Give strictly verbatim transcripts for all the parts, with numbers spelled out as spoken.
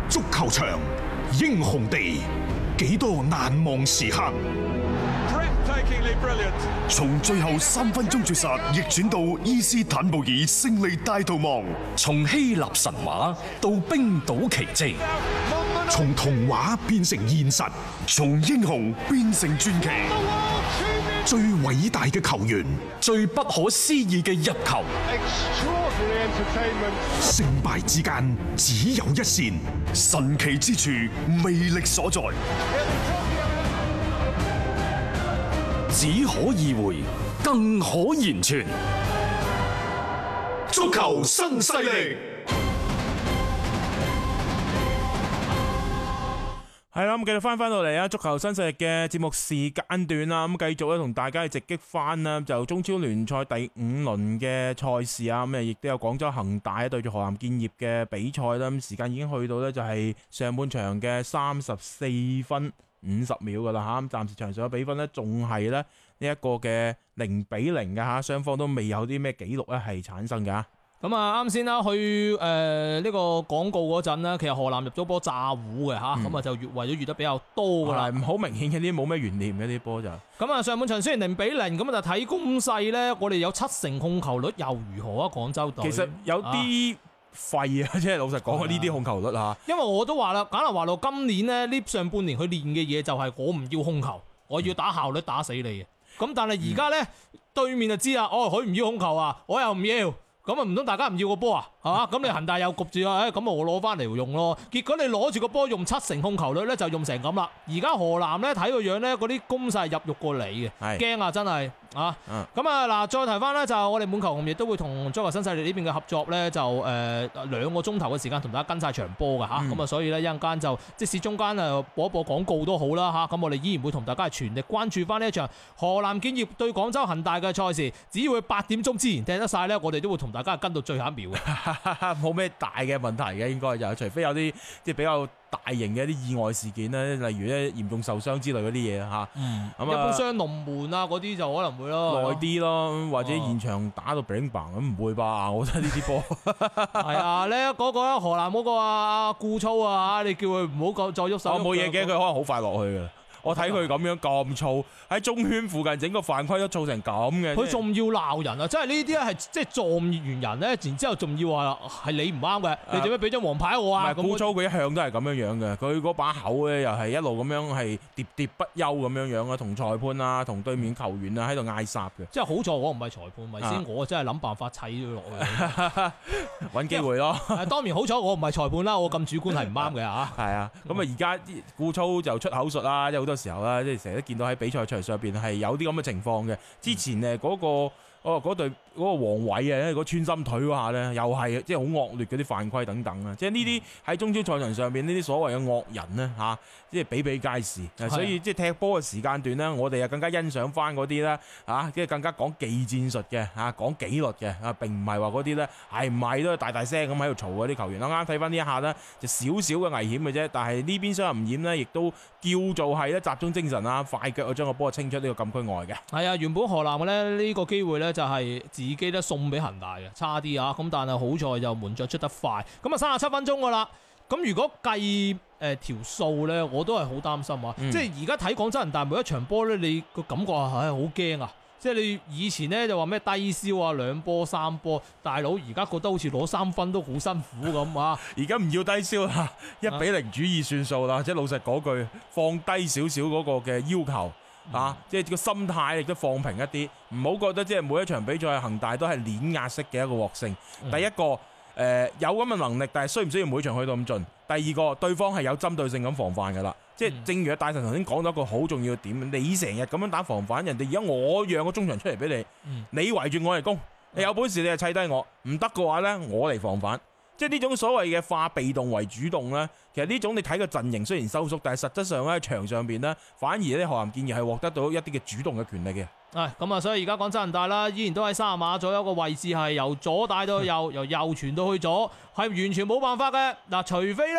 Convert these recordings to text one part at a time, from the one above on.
足球場，英雄地，幾多難忘時刻。 從最後三分鐘絕殺逆轉到伊斯坦布爾勝利大逃亡， 從希臘神話到冰島奇蹟， 從童話變成現實， 從英雄變成傳奇。 最偉大嘅球員， 最不可思議嘅入球， 勝敗之間只有一線， 神奇之處魅力所在， 只可意會，更可言傳。 足球新勢力。 係啦，咁繼續翻翻到嚟啊！足球新勢力嘅節目時間段啦，咁繼續咧同大家去直擊翻啦，就中超聯賽第五輪嘅賽事啊，咁啊亦都有廣州恒大對住河南建業嘅比賽啦，咁時間已經去到呢，就係上半場嘅三十四分五十秒噶啦吓，咁暫時場上嘅比分呢，仲係咧呢一個嘅零比零嘅吓，雙方都未有啲咩紀錄咧係產生噶。 咁啊，啱先啦，去誒呢個廣告嗰陣呢，其實河南入咗波炸糊嘅吓，咁啊、嗯、就越為咗越得比較多噶啦， 好明顯嘅啲冇咩懸念嘅啲波就。 咁啊，上半場雖然零比零，咁啊就睇攻勢咧，我哋有七成控球率又如何啊？廣州隊其實有啲廢啊，即係老實講呢啲控球率啊。 因為我都話啦，簡拿華路今年呢，呢上半年佢練嘅嘢就係我唔要控球，我要打效率打死你嘅。咁但係而家咧對面就知啦，哦佢唔要控球啊，我又唔要。咁啊唔通大家唔要個波啊，係嘛？咁你恒大又焗住啊，咁我攞翻嚟用咯。結果你攞住個波用七成控球率咧，就用成咁啦。而家河南咧睇個樣咧，嗰啲攻勢入肉過你嘅，驚啊真係啊！咁啊嗱，再提翻咧就我哋滿球紅亦都會同足球新勢力呢邊嘅合作咧，就誒、呃、兩個鐘頭嘅時間同大家跟晒場波㗎吓。咁啊、嗯，所以咧一陣間就即使中間啊播一播廣告都好啦吓。咁我哋依然會同大家全力關注翻呢一場河南建業對廣州恒大嘅賽事。只要佢八點鐘之前踢得晒咧，我哋都會同大家跟到最後一秒嘅，冇咩大嘅問題嘅，應該就除非有啲即係比較大型嘅一啲意外事件咧，例如咧嚴重受傷之類嗰啲嘢嚇。嗯，咁啊，一般雙龍門啊嗰啲就可能會咯，耐啲咯，或者現場打到 bling bang 咁唔會吧？我覺得呢啲波係啊，咧嗰個河南嗰個啊顧操啊，你叫佢唔好再喐手。 我冇嘢嘅，佢可能好快落去嘅。我睇佢咁樣咁燥，喺中圈附近整個犯規都造成咁嘅， 佢仲要鬧人啊！即係呢啲咧係即係撞完人咧，然之後仲要話係你唔啱嘅，你點解俾張黃牌我啊？ 唔係高操佢一向都係咁樣樣嘅，佢嗰把口咧又係一路咁樣係喋喋不休咁樣樣啊，同裁判啊、同對面球員啊喺度嗌殺嘅。 即係好在我唔係裁判，咪先、啊、我真係諗辦法砌咗落去， 揾機會咯。 當然好彩我唔係裁判啦，我咁主觀係唔啱嘅嚇。 係啊，咁啊而家啲高操就出口術啦，即係好多時候啦，即係成日都見到喺比賽場上邊係有啲咁嘅情況嘅。之前誒嗰個哦嗰隊嗰個黃偉啊，嗰穿心腿嗰下咧，又係即係好惡劣嗰啲犯規等等啊！即係呢啲喺中超賽場上邊呢啲所謂嘅惡人咧嚇，即係比比皆是。所以即係踢波嘅時間段咧，我哋啊更加欣賞翻嗰啲咧嚇，即係更加講技戰術嘅嚇，講紀律嘅啊，並唔係話嗰啲咧係唔係都大大聲咁喺度嘈嗰啲球員。啱啱睇翻呢一下咧，就少少嘅危險嘅啫。但係呢邊傷唔染咧，亦都叫做係咧集中精神啊，快腳啊將個波清出呢個禁區外嘅。 係啊，原本河南嘅咧呢個機會咧就係自己咧送俾恒大嘅，差啲啊！咁但係好在就門將出得快，咁啊三十七分鐘噶啦。咁如果計誒條數咧，我都係好擔心啊！嗯、即係而家睇廣州恒大每一場波咧，你個感覺係好驚啊！即係你以前咧就話咩低消啊，兩波三波，大佬而家覺得好似攞三分都好辛苦咁啊！ 而家唔要低消啦，一比零主義算數啦，啊、即係老實講句，放低少少嗰個嘅要求。啊！即係個心態亦都放平一啲，唔好覺得即係每一場比賽恒大都係碾壓式嘅一個獲勝。嗯、第一個誒、呃、有咁嘅能力，但係需唔需要每場去到咁盡？第二個對方係有針對性咁防範㗎啦。即係正如阿大神頭先講到一個好重要嘅點，你成日咁樣打防範，人哋而家我讓個中場出嚟俾你，嗯、你圍住我嚟攻，你有本事你就砌低我，唔得嘅話呢，我嚟防範。即係呢種所謂嘅化被動為主動呢，其實呢種你睇個陣型雖然收縮，但係實質上喺場上邊呢，反而呢河南建業係獲得到一啲嘅主動嘅權力嘅。 係咁啊，所以而家廣州恒大啦，依然都喺三十碼左右個位置，係由左帶到右，由右傳到去左，係完全冇辦法嘅。嗱，除非呢，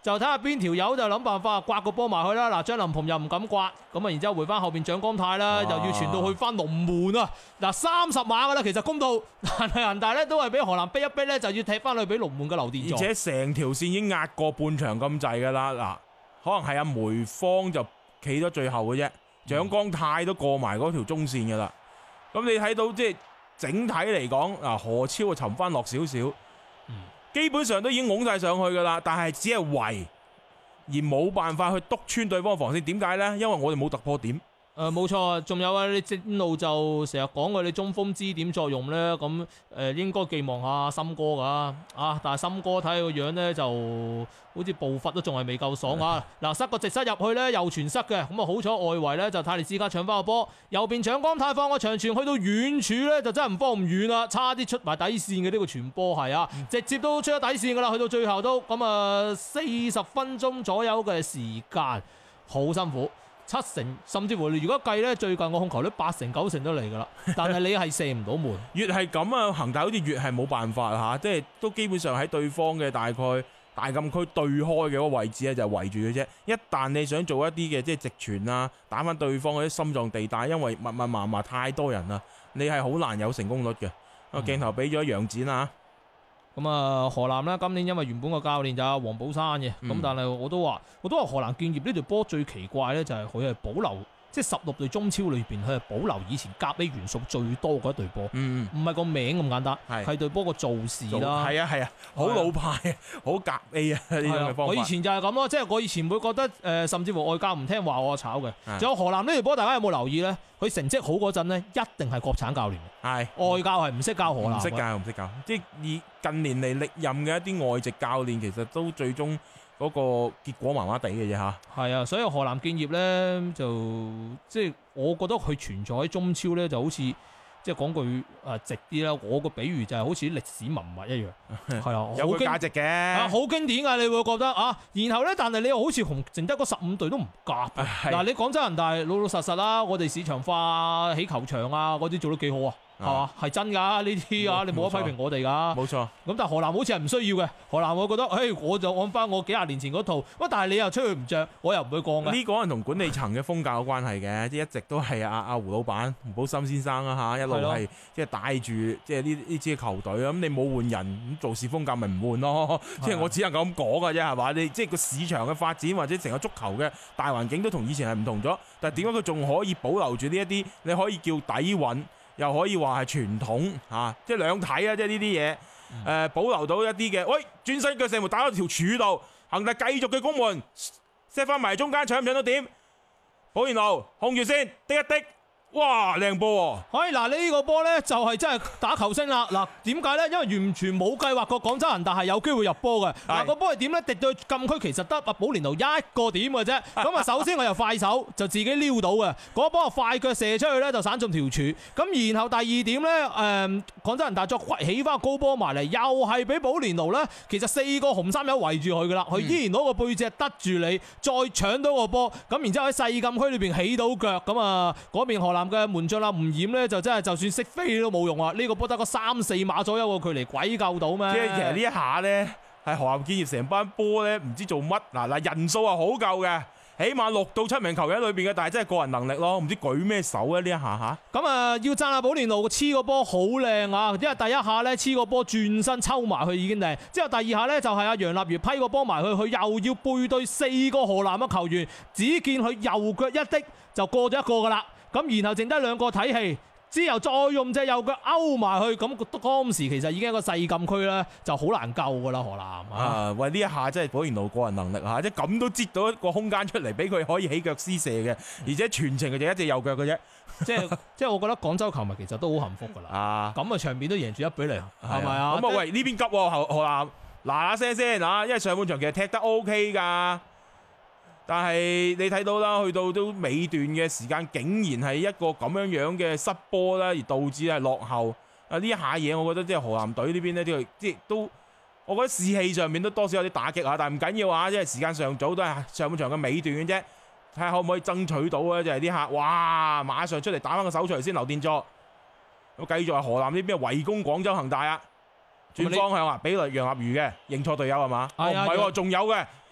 就睇下邊條友就諗辦法刮個波埋去啦。嗱，張林鵬又唔敢刮，咁啊，然之後回翻後邊蔣光泰啦，又要傳到去翻龍門啊。嗱，三十碼噶啦，其實攻到，但係恒大咧都係俾河南逼一逼咧，就要踢翻去俾龍門嘅劉殿座。 而且成條線已經壓過半場咁滯噶啦。嗱，可能係阿梅方就企咗最後嘅啫，蔣光泰都過埋嗰條中線噶啦。咁你睇到即係整體嚟講，嗱，何超啊沉翻落少少。基本上都已經拱晒上去噶啦，但係只係圍而冇辦法去督穿對方防線。點解呢？因為我哋冇突破點。 誒冇錯，仲有啊！你正路就成日講過你中鋒支點作用咧，咁誒、呃、應該寄望下森哥噶啊！但係森哥睇個樣咧，就好似步伐都仲係未夠爽啊！嗱，塞個直塞入去咧，又傳塞嘅，咁啊好彩外圍咧就泰利斯卡搶翻個波，右邊蔣光泰放個長傳去到遠處咧，就真係唔方唔遠啦，差啲出埋底線嘅呢個傳波係啊，直接都出咗底線噶啦，去到最後都咁啊四十分鐘左右嘅時間，好辛苦。七成甚至乎，如果計咧，最近個控球率八成九成都嚟噶啦，但係你係射唔到門。 越係咁啊，恒大好似越係冇辦法嚇，即係都基本上喺對方嘅大概大禁區對開嘅嗰個位置咧，就圍住嘅啫。一旦你想做一啲嘅即係直傳啊，打翻對方嗰啲心臟地帶，因為密密麻麻太多人啦，你係好難有成功率嘅。個鏡頭俾咗楊展啊。 咁啊，河南呢，今年因為原本個教練就係黃寶山嘅，咁、嗯、但係我都話，我都話河南建業呢隊波最奇怪呢，就係佢係保留，即係十六隊中超裏邊，佢係保留以前甲 A 元素最多嗰一隊波，唔係個名咁簡單，係隊波個做事啦，係啊係啊，好老派啊，好甲 A 啊呢種嘅方法。 我以前就係咁咯，即係我以前會覺得誒、呃，甚至乎外教唔聽話我炒嘅。仲有河南呢隊波，大家有冇留意呢？佢成績好嗰陣呢，一定係國產教練，係外教係唔識教河南， 唔識教唔識教，即係以近年嚟歷任嘅一啲外籍教練，其實都最終嗰個結果麻麻地嘅啫嚇。係啊，所以河南建業呢，就即係我覺得佢存在喺中超呢，就好似即係講句誒直啲啦，我個比喻就係好似歷史文物一樣，係啊， 有個價值嘅， 啊好經典㗎，你會覺得啊，然後呢，但係你又好似同剩得嗰十五隊都唔夾。嗱，你廣州恒大老老實實啦，我哋市場化起球場啊嗰啲做得幾好啊。係嘛？係真㗎呢啲啊！你冇得批評我哋㗎。冇錯。咁但係河南好似係唔需要嘅。河南我覺得，誒我就按翻我幾廿年前嗰套。喂，但係你又出去唔着，我又唔會降嘅。呢個可能同管理層嘅風格有關係嘅，即係一直都係阿阿胡老闆胡寶森先生啊嚇，一路係即係帶住即係呢呢支球隊啊。咁你冇換人，咁做事風格咪唔換咯。即係我只能夠咁講㗎啫，係嘛？你即係個市場嘅發展或者成個足球嘅大環境都同以前係唔同咗。但係點解佢仲可以保留住呢一啲？你可以叫底蘊。又可以話係傳統嚇、啊，即係兩睇啊！即係呢啲嘢，誒、呃、保留到一啲嘅。喂，轉身腳射門打到條柱度，恒大繼續嘅攻門，set 翻埋中間搶唔搶到點？保連奴控住先，滴一滴。哇，靚波喎！哎嗱，呢個波呢就係真係打球星啦！嗱，點解呢？因為完全冇計劃過廣州恒大係有機會入波嘅。嗱，個波係點呢？滴到禁區其實得阿保連奴一個點嘅啫。咁啊，首先我又快手就自己撩到嘅，嗰波快腳射出去呢，就散中條柱。咁然後第二點呢，誒、呃、廣州恒大再起翻高波埋嚟，又係俾保連奴呢。其實四個紅衫友圍住佢噶啦，佢依然攞個背脊得住你，再搶到個波。咁然之後喺細禁區裏邊起到腳，咁啊嗰邊河南嘅門將啦，吳冉咧就真係就算識飛都冇用啊！呢、這個波得個三四碼左右嘅距離，鬼救到咩？即係其實呢一下咧，係河南建業成班波咧，唔知做乜嗱嗱人數係好夠嘅，起碼六到七名球員喺裏邊嘅，但係真係個人能力咯，唔知舉咩手啊呢一下吓。咁啊，要讚下保連奴黐個波好靚啊！因為第一下咧黐個波轉身抽埋去已經靚，之後第二下咧就係阿楊立瑜批個波埋去，佢又要背對四個河南嘅球員，只見佢右腳一滴就過咗一個噶啦。咁然後剩低兩個睇戲，之後再用隻右腳勾埋去，咁當時其實已經一個細禁區咧，就好難救噶啦河南啊！喂，呢一下真係保連奴個人能力嚇，即係咁都擠到一個空間出嚟，俾佢可以起腳施射嘅，而且全程嘅就一隻右腳嘅啫。即係即係我覺得廣州球迷其實都好幸福噶啦。啊，咁啊場面都贏住一比零，係咪啊？咁啊喂，呢邊急喎河河南嗱嗱聲先啊，因為上半場其實踢得 O K 㗎。但係你睇到啦，去到都尾段嘅時間，竟然係一個咁樣樣嘅失波啦，而導致係落後。啊呢一下嘢，我覺得即係河南隊呢邊呢，啲即係都，我覺得士氣上面都多少有啲打擊啊。但係唔緊要啊，因為時間尚早，都係上半場嘅尾段嘅啫。睇下可唔可以爭取到啊？就係呢下，哇！馬上出嚟打翻個手出嚟先，劉殿座。咁繼續係河南呢邊圍攻廣州恒大啊！轉方向啊，俾嚟楊立瑜嘅認錯隊友係嘛？哦唔係喎，仲有嘅。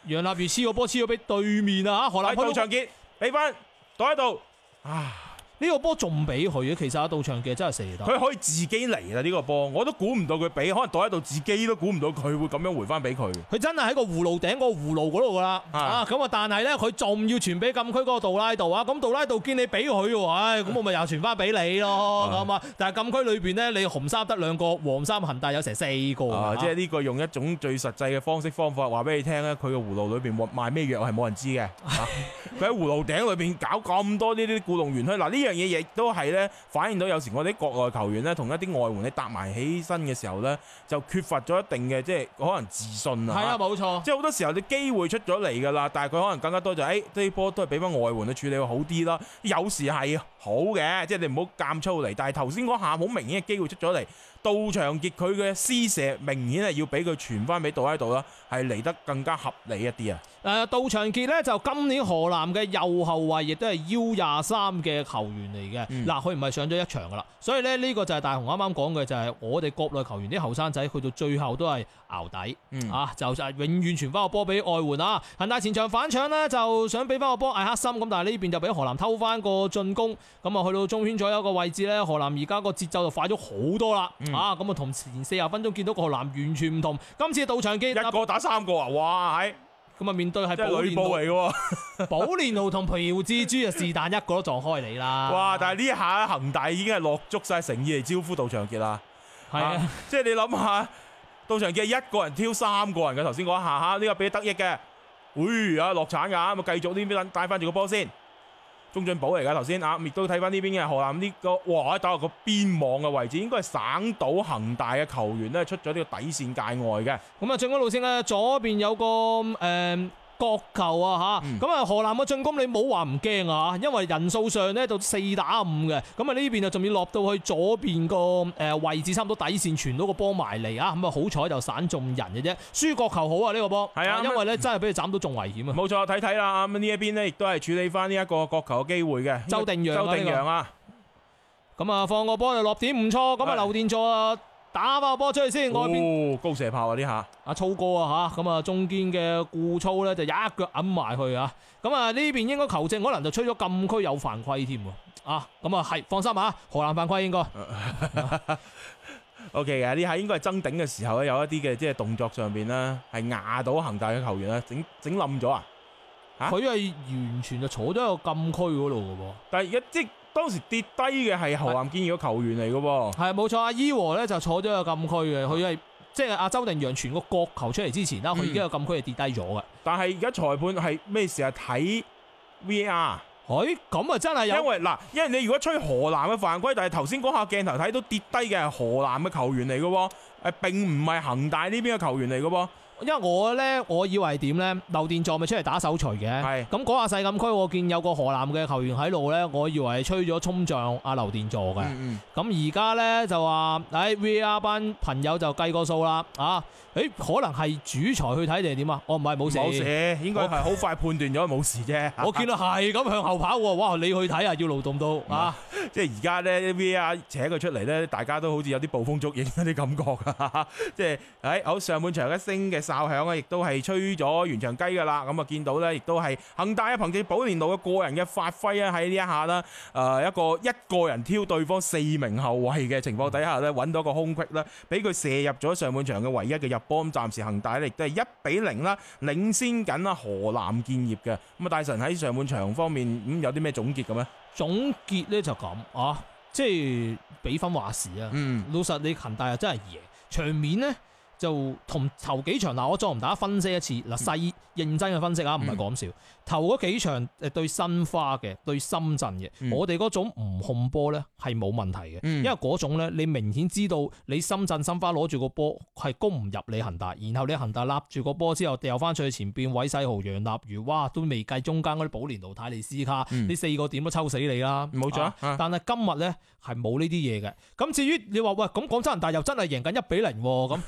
楊立瑜黐個波黐咗俾對面啊！河南杜長傑俾翻杜喺度啊！ 呢個波仲唔俾佢嘅？其實阿杜長傑真係射得， 佢可以自己嚟啦呢個波，我都估唔到佢俾，可能躲喺度自己都估唔到佢會咁樣回翻俾佢。 佢真係喺個葫蘆頂個葫蘆嗰度噶啦，啊咁啊！但係咧，佢仲要傳俾禁區嗰個杜拉道啊！咁杜拉道見你俾佢喎，唉，咁我咪又傳翻俾你咯，咁啊！但係禁區裏邊咧，你紅衫得兩個，黃衫恒大有成四個啊！即係呢個用一種最實際嘅方式方法話俾你聽咧，佢個葫蘆裏邊賣咩藥係冇人知嘅。佢喺葫蘆頂裏邊搞咁多呢啲故弄玄虛，嗱呢樣嘢亦都係。反映到有時我哋啲國內球員咧，同一啲外援你搭埋起身嘅時候咧，就缺乏咗一定嘅即係可能自信啊。 係啊，冇錯。 即係好多時候你機會出咗嚟㗎啦，但係佢可能更加多就係誒呢波都係俾翻外援去處理會好啲啦。有時係好嘅，即係你唔好監粗嚟。但係頭先嗰下好明顯嘅機會出咗嚟，杜長傑佢嘅施射明顯係要俾佢傳翻俾杜喺度啦，係嚟得更加合理一啲啊。 誒杜長傑咧就今年河南嘅右後衞，亦都係 U 廿三嘅球員嚟嘅。嗱、嗯，佢唔係上咗一場噶啦，所以咧呢個就係大雄啱啱講嘅，就係我哋國內球員啲後生仔去到最後都係淆底、嗯、啊，就就係永遠傳翻個波俾外援啊。恒大前場反搶呢，就想俾翻個波艾克森，咁但係呢邊就俾河南偷翻個進攻，咁啊去到中圈左右個位置咧，河南而家個節奏就快咗好多啦、嗯，啊咁啊同前四十分鐘見到個河南完全唔同。今次杜長傑一個打三個啊，哇係！ 咁啊，面對係保連奴嚟嘅，保連奴同朴志洙啊，是但一個都撞開你啦！哇！ 但係呢下恒大已經係落足晒誠意嚟招呼杜長傑啦。 係啊，啊， 即係你諗下，杜長傑一個人挑三個人嘅頭先嗰一下嚇，呢、呢個俾得益嘅。喂啊，落鏟㗎，咁啊繼續呢邊帶翻住個波先。鍾進寶嚟㗎頭先啊，亦都睇翻呢邊嘅河南呢、呢個，哇！打落個邊網嘅位置，應該係省到恒大嘅球員咧出咗呢個底線界外嘅。 咁啊，進攻路線咧，左邊有個誒。呃角球啊嚇，咁、嗯、啊河南嘅進攻你冇話唔驚啊，因為人數上咧就四打五嘅，咁啊呢邊啊仲要落到去左邊個誒位置，差唔多底線傳到個波埋嚟啊，咁啊好彩就散中人嘅啫，輸角球好啊呢、呢個波，係啊，因為咧真係俾佢斬到仲危險啊。冇錯，睇睇啦，咁呢一邊呢，亦都係處理翻呢一個角球嘅機會嘅。周定洋，周定洋啊，咁、這、啊、個、放個波就落點唔錯，咁啊劉殿座啊。打爆波出去先，外邊、哦、高射炮啊！呢下阿粗哥啊吓，咁啊中堅嘅顧粗咧就一腳揞埋去啊！咁啊呢邊應該球證可能就吹咗禁區有犯規添喎啊！咁啊係放心啊，河南犯規應該。O K 嘅，呢下應該係爭頂嘅時候咧，有一啲嘅即係動作上邊咧係壓到恒大嘅球員咧，整整冧咗啊！佢係完全就坐咗喺個禁區嗰度嘅噃，但係而家即當時跌低嘅係河南建業嘅球員嚟嘅喎，係冇錯。阿伊和咧就坐咗個禁區嘅，佢係即係阿周定洋傳個角球出嚟之前啦，佢、嗯、已經有禁區係跌低咗嘅。但係而家裁判係咩時候睇 V R？佢咁啊真係有，因為嗱，因為你如果吹河南嘅犯規，但係頭先嗰下鏡頭睇到跌低嘅係河南嘅球員嚟嘅喎，誒並唔係恒大呢邊嘅球員嚟嘅喎。因為我咧，我以為點咧？劉殿座咪出嚟打手錘嘅，咁嗰下細禁區，我見有個河南嘅球員喺度咧，我以為係吹咗衝撞阿劉殿座嘅。咁而家咧就話，誒、哎、V R 班朋友就計個數啦，啊，誒可能係主裁去睇定係點啊？我唔係冇事，冇事，應該係好快判斷咗冇事啫。我見到係咁向後跑喎，哇！你去睇啊，要勞動到啊！即係而家咧 V R 扯佢出嚟咧，大家都好似有啲捕風捉影嗰啲感覺啊！即係誒好上半場一聲嘅哨響啊，亦都係吹咗完場雞噶啦。咁啊見到咧，亦都係恒大啊，憑借保連奴嘅個人嘅發揮啊，喺呢一下啦，誒一個一個人挑對方四名後衞嘅情況底下咧，揾到個空隙啦，俾佢射入咗上半場嘅唯一嘅入波。咁暫時恒大亦都係一比零啦，領先緊啊河南建業嘅。咁啊大神喺上半場方面咁有啲咩總結嘅咩？總結咧就咁啊，即係比分話事啊。嗯，老實你恒大又真係贏，場面呢就同頭幾場嗱，我再同大家分析一次嗱，細認真嘅分析啊，唔係講笑。頭嗰幾場誒對申花嘅，對深圳嘅、嗯，我哋嗰種唔控波咧係冇問題嘅、嗯，因為嗰種咧你明顯知道你深圳申花攞住個波係攻唔入你恒大，然後你恒大立住個波之後掉翻出去前邊，韋世豪、楊立瑜，哇都未計中間嗰啲保連奴、泰利斯卡，呢、嗯、四個點都抽死你啦，冇錯、啊啊。但係今日咧係冇呢啲嘢嘅。咁至於你話喂咁廣州恒大又真係贏緊一比零喎，咁咁點解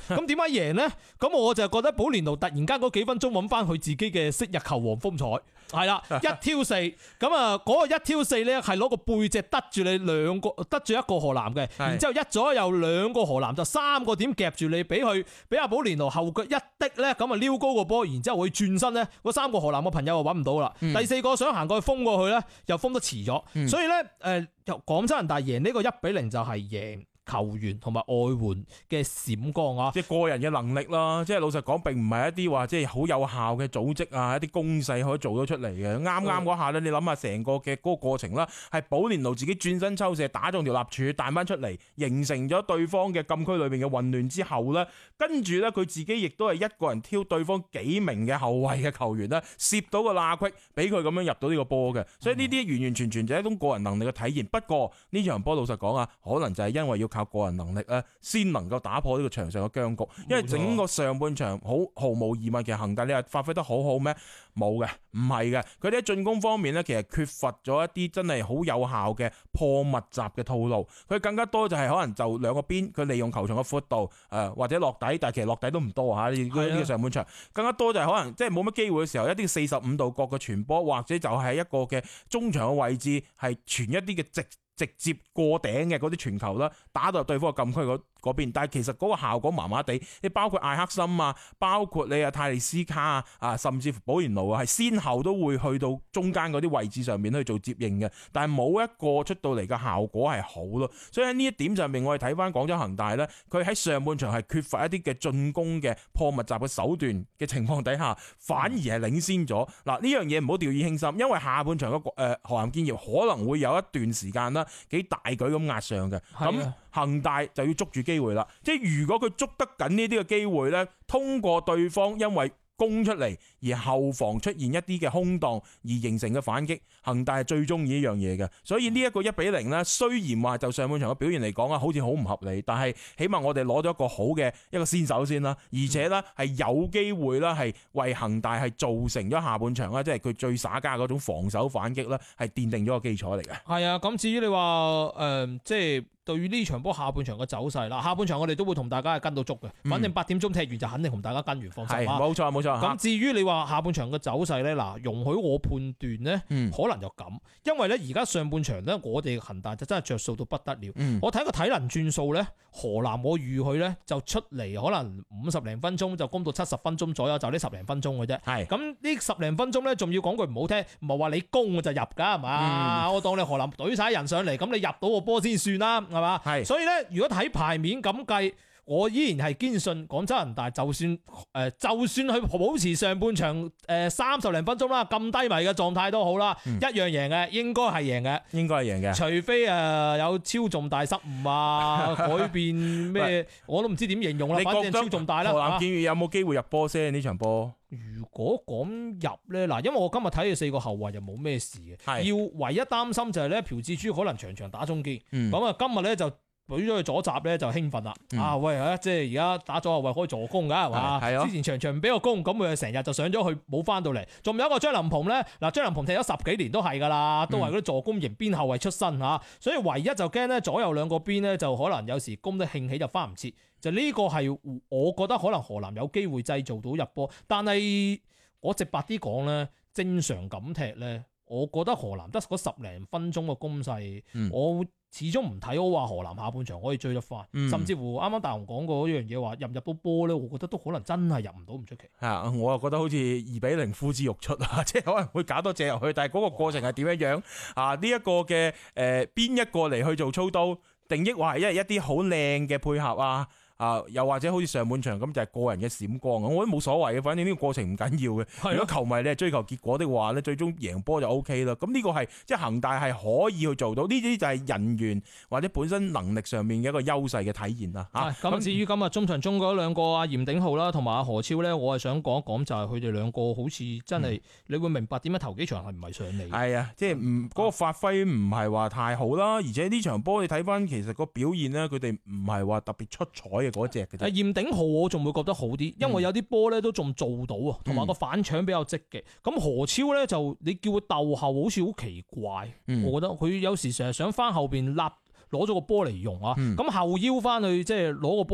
解贏呢？咁我就覺得保連奴突然間嗰幾分鐘揾翻佢自己嘅昔日球王風采。係啦，一挑四，咁啊嗰個一挑四咧係攞個背脊得住你兩個，得住一個河南嘅，然之後一左右兩個河南就三個點夾住你，俾佢俾阿保連奴後腳一滴咧，咁啊撩高個波，然之後會轉身咧，嗰三個河南嘅朋友就揾唔到啦。嗯、第四個想行過去封過去咧，又封得遲咗，嗯、所以咧誒，廣州恒大贏呢個一比零就係贏球員同埋外援嘅閃光啊！ 即係個人嘅能力啦，即係老實講，並唔係一啲話即係好有效嘅組織啊，一啲攻勢可以做到出嚟嘅。啱啱嗰下咧，你諗下成個嘅嗰個過程啦，係保連奴自己轉身抽射打中條立柱彈翻出嚟，形成咗對方嘅禁區裏邊嘅混亂之後咧，跟住咧佢自己亦都係一個人挑對方幾名嘅後衛嘅球員咧，攝到個罅隙，俾佢咁樣入到呢個波嘅。所以呢啲完完全全就係一種個人能力嘅體現。不過呢場波老實講啊，可能就係因為要靠個人能力咧，先能夠打破呢個場上嘅僵局。因為整個上半場好毫無疑問，其實恒大你話發揮得好好咩？冇嘅，唔係嘅。佢哋喺進攻方面咧，其實缺乏咗一啲真係好有效嘅破密集嘅套路。佢更加多就係可能就兩個邊，佢利用球場嘅闊度，誒、呃、或者落底，但係其實落底都唔多嚇。呢個上半場更加多就係可能即係冇乜機會嘅時候，一啲四十五度角嘅傳波，或者就係一個嘅中場嘅位置係傳一啲嘅直。直接過頂嘅嗰啲傳球啦，打到對方嘅禁區嗰嗰邊，但係其實嗰個效果麻麻地。你包括艾克森啊，包括你啊泰利斯卡啊，啊甚至乎保連奴啊，係先後都會去到中間嗰啲位置上面去做接應嘅，但係冇一個出到嚟嘅效果係好咯。所以喺呢一點上面，我哋睇翻廣州恒大呢，佢喺上半場係缺乏一啲嘅進攻嘅破密集嘅手段嘅情況底下，反而係領先咗。嗱，呢樣嘢唔好掉以輕心，因為下半場嘅誒河南建業可能會有一段時間啦。幾大舉咁壓上嘅，咁恒大就要捉住機會啦。即係如果佢捉得緊呢啲嘅機會呢，通過對方因為攻出嚟而後防出現一啲嘅空檔而形成嘅反擊，恒大係最中意呢樣嘢嘅。所以呢一個一比零呢，雖然話就上半場嘅表現嚟講啊，好似好唔合理，但係起碼我哋攞咗一個好嘅一個先手先啦，而且呢係有機會啦，係為恒大係造成咗下半場啦，即係佢最耍家嗰種防守反擊啦，係奠定咗個基礎嚟嘅。係啊，咁至於你話誒、呃，即係。對於呢場波下半場嘅走勢啦，下半場我哋都會同大家係跟到足嘅，反正八點鐘踢完就肯定同大家跟完，放心。係，冇錯冇錯。咁至於你話下半場嘅走勢咧，嗱，容許我判斷咧，嗯、可能就咁，因為咧而家上半場咧，我哋恒大就真係着數到不得了。嗯、我睇個體能轉數咧，河南我預佢咧就出嚟可能五十零分鐘就攻到七十分鐘左右，就呢十零分鐘嘅啫。係。咁呢十零分鐘咧，仲要講句唔好聽，唔係話你攻我就入㗎係嘛？嗯、我當你河南隊晒人上嚟，咁你入到個波先算啦。係嘛？係，所以咧，如果睇牌面咁計，我依然係堅信廣州恒大就算誒、呃，就算佢保持上半場誒三十零分鐘啦，咁低迷嘅狀態都好啦，嗯、一樣贏嘅，應該係贏嘅，應該係贏嘅，除非誒、呃、有超重大失誤啊，改變咩，我都唔知點形容啦。反正超重大啦。河南建業有冇機會入波先呢場波？如果講入咧，嗱，因為我今日睇嘅四個後衛就冇咩事嘅，是要唯一擔心就係咧，朴志洙可能場場打中堅，咁啊、嗯、今日咧就舉咗佢左閘咧就興奮啦，嗯、啊喂啊，即係而家打左後衛可以助攻㗎係嘛？係啊，之前場場唔俾個攻，咁佢成日就上咗去冇翻到嚟。仲有一個張琳芃咧，嗱張琳芃踢咗十幾年都係㗎啦，都係嗰啲助攻型邊後衛出身嚇，所以唯一就驚咧左右兩個邊咧就可能有時攻得興起就翻唔切。就呢個係我覺得可能河南有機會製造到入波，但係我直白啲講咧，正常咁踢咧，我覺得河南得嗰十零分鐘嘅攻勢，嗯、我始終唔睇好話河南下半場可以追得翻，嗯、甚至乎啱啱大雄講過一樣嘢話入唔入到波咧，我覺得都可能真係入唔到唔出奇。係啊，我又覺得好似二比零呼之欲出啊，即係可能會搞多隻入去，但係嗰個過程係點樣樣啊？呢、這、一個嘅誒邊一個嚟去做操刀，定抑或係一一啲好靚嘅配合啊？啊，又或者好似上半場咁就係個人嘅閃光，我覺得冇所謂嘅，反正呢個過程唔緊要嘅。的如果球迷你係追求結果的話咧，最終贏波就 O K 啦。咁呢個係即係恒大係可以去做到，呢啲就係人員或者本身能力上面嘅一個優勢嘅體現啦。嚇咁的、啊、至於今日中場中嗰兩個阿嚴鼎皓啦，同埋阿何超咧，我係想講一講就係佢哋兩個好似真係、嗯、你會明白點解頭幾場係唔係上嚟。係啊，即係唔嗰個發揮唔係話太好啦，而且呢場波你睇翻其實個表現咧，佢哋唔係話特別出彩嘅嗰隻嘅。誒嚴鼎皓我仲會覺得好啲，因為有啲波咧都仲做到啊，同埋個反搶比較積極。咁、嗯、何超咧就你叫佢鬥後好似好奇怪，嗯、我覺得佢有時成日想翻後邊立攞咗個波嚟用啊，咁、嗯、後腰翻去即係攞個波嚟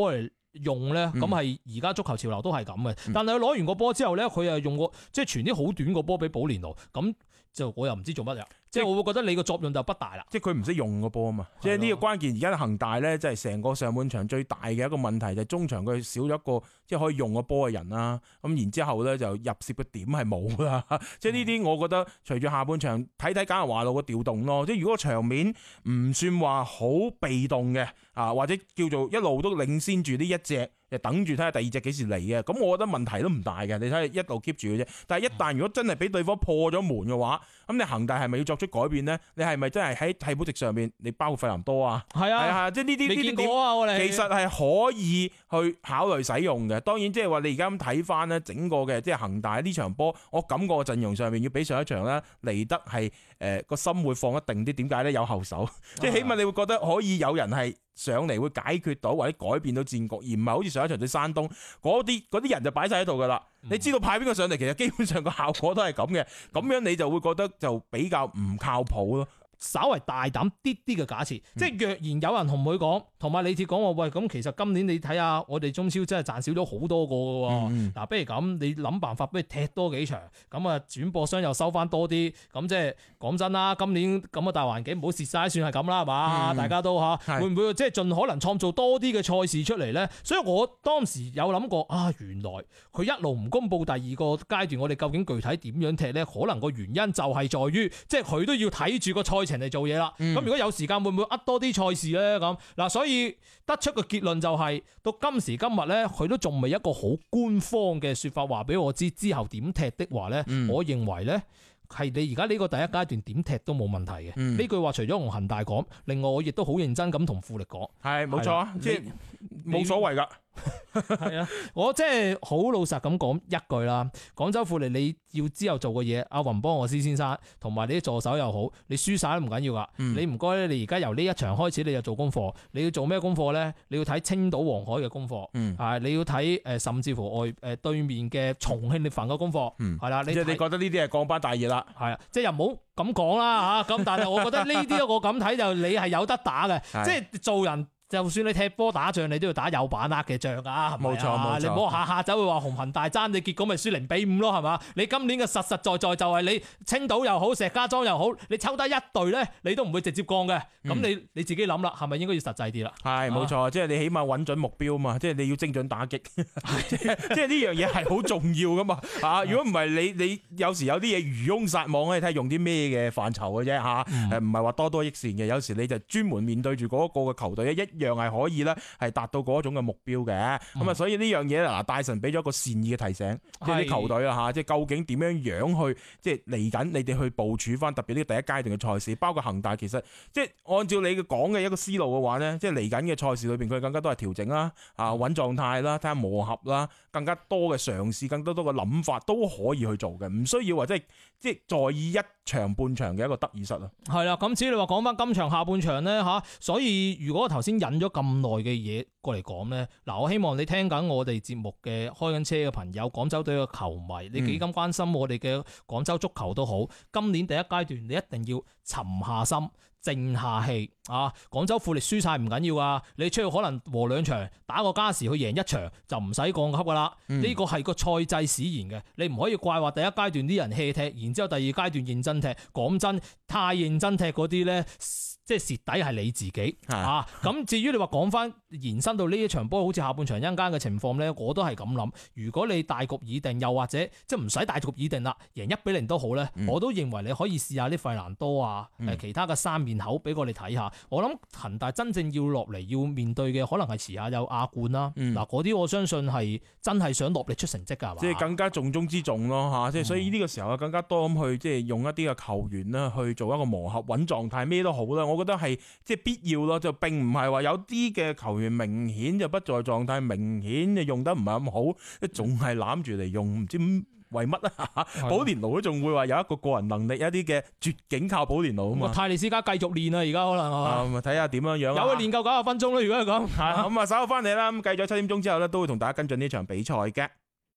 用咧，咁係而家足球潮流都係咁嘅。 嗯、 但係佢攞完個波之後咧，佢又用個即係傳啲好短個波俾保連奴，咁就我又唔知做乜嘢。即係我會覺得你個作用就不大啦。 即係佢唔識用個波啊嘛。即係呢個關鍵。而家恒大咧，即係成個上半場最大嘅一個問題就係中場佢少咗一個即係可以用個波嘅人啦。咁然之後咧就入楔嘅點係冇啦。即係呢啲我覺得隨住下半場睇睇簡拿華路嘅調動咯。即係如果場面唔算話好被動嘅啊，或者叫做一路都領先住呢一隻。就等住睇下第二隻幾時嚟嘅，咁我覺得問題都唔大嘅。你睇下一路 keep 住嘅啫。但係一旦如果真係俾對方破咗門嘅話，咁你恒大係咪要作出改變呢？你係咪真係喺替補席上面，你包括費南多啊？係啊，係啊，即係呢啲呢啲點，其實係可以去考慮使用嘅。當然即係話你而家咁睇翻呢，整個嘅即係恒大呢場波，我感覺陣容上面要比上一場咧嚟得係誒個心會放一定啲。點解咧？有後手，即係起碼你會覺得可以有人係上嚟會解決到或者改變到戰局，而唔係好似上一場對山東嗰啲嗰啲人就擺晒喺度噶啦。你知道派邊個上嚟，其實基本上個效果都係咁嘅，咁樣你就會覺得就比較唔靠譜咯。 稍為大膽啲啲嘅假設，嗯、即係若然有人同佢講，同埋李鐵講話，喂，咁其實今年你睇下我哋中超真係賺少咗好多個嘅喎。嗱、嗯啊，不如咁，你諗辦法，不如踢多幾場，咁啊轉播商又收翻多啲，咁即係講真啦，今年咁嘅大環境唔好蝕晒，算係咁啦，係嘛？嗯、大家都嚇，會唔會即係盡可能創造多啲嘅賽事出嚟咧？所以我當時有諗過啊，原來佢一路唔公佈第二個階段，我哋究竟具體點樣踢咧？可能個原因就係在於，即係佢都要睇住個賽程嚟做嘢啦。咁、嗯、如果有時間，會唔會呃多啲賽事咧？咁嗱，所以得出個結論就係、是、到今時今日咧，佢都仲未一個好官方嘅說法話俾我知之後點踢的話咧，嗯、我認為咧係你而家呢個第一階段點踢都冇問題嘅。呢、嗯、句話除咗同恒大講，另外我亦都好認真咁同富力講，係冇錯啊，即係冇所謂噶。係啊，我即係好老實咁講一句啦。廣州富力你要之後做嘅嘢，阿雲邦賀斯先生同埋你啲助手又好，你輸晒都唔緊要噶。嗯、你唔該咧，你而家由呢一場開始，你就做功課。你要做咩功課咧？你要睇青島黃海嘅功課，係、嗯、你要睇誒，甚至乎外誒對面嘅重慶力帆嘅功課，係啦、嗯。你即係你覺得呢啲係降班大熱啦？係啊，即係又唔好咁講啦吓。咁但係我覺得呢啲我咁睇就你係有得打嘅，即係做人。就算你踢波打仗，你都要打有把握嘅仗㗎，係咪啊？冇錯冇錯，你唔好下下走去話紅恆大爭，你結果咪輸零比五咯，係嘛？你今年嘅實實在在就係你青島又好，石家莊又好，你抽得一隊咧，你都唔會直接降嘅。咁、嗯、你你自己諗啦，係咪應該要實際啲啦？係冇錯，即係你起碼揾準目標嘛，即係你要精準打擊，即係呢樣嘢係好重要㗎嘛。啊，如果唔係你你有時有啲嘢漁翁撒網咧，睇下用啲咩嘅範疇嘅啫嚇，誒唔係話多多益善嘅。有時你就專門面對住嗰個嘅球隊一。一樣係可以咧，係達到嗰種嘅目標嘅。咁啊、嗯，所以呢樣嘢嗱，大神俾咗一個善意嘅提醒，即係啲球隊啊吓，即係究竟點樣樣去，即係嚟緊你哋去部署翻，特別呢個第一階段嘅賽事，包括恒大，其實即係按照你嘅講嘅一個思路嘅話咧，即係嚟緊嘅賽事裏邊，佢更加多係調整啦，啊穩狀態啦，睇下磨合啦，更加多嘅嘗試，更加多嘅諗法都可以去做嘅，唔需要話即係即係在意一場半場嘅一個得意失啊。係啦，咁至於你話講翻今場下半場咧吓，所以如果頭先引咗咁耐嘅嘢過嚟講咧，嗱，我希望你聽緊我哋節目嘅開緊車嘅朋友，廣州隊嘅球迷，你幾咁關心我哋嘅廣州足球都好，今年第一階段你一定要沉下心，靜下氣啊！廣州富力輸晒唔緊要啊，你出去可能和兩場，打個加時去贏一場就唔使降級噶啦。呢個係個賽制使然嘅，你唔可以怪話第一階段啲人 hea 踢，然之後第二階段認真踢。講真，太認真踢嗰啲呢，即係蝕底係你自己啊！咁至於你話講翻延伸到呢一場波，好似下半場一間嘅情況呢，我都係咁諗。如果你大局已定，又或者即係唔使大局已定啦，贏一比零都好呢，嗯、我都認為你可以試下啲費蘭多啊，誒、嗯、其他嘅三面口俾我哋睇下。我諗恒大真正要落嚟要面對嘅，可能係遲下有亞冠啦。嗱，嗰啲我相信係真係想落力出成績㗎，係嘛？即係更加重中之重咯嚇！即係所以呢個時候啊，更加多咁去即係用一啲嘅球員啦，去做一個磨合穩狀態，咩都好啦。我覺得係即係必要咯，就並唔係話有啲嘅球員明顯就不在狀態，明顯就用得唔係咁好，仲係攬住嚟用，唔知為乜啊？保連奴都仲會話有一個個人能力，一啲嘅絕境靠保連奴啊嘛。泰利斯加繼續練啊，而家可能啊，咁啊睇下點樣樣。有佢練夠九十分鐘啦，如果係咁。咁啊，稍後翻嚟啦，咁計咗七點鐘之後咧，都會同大家跟進呢場比賽嘅。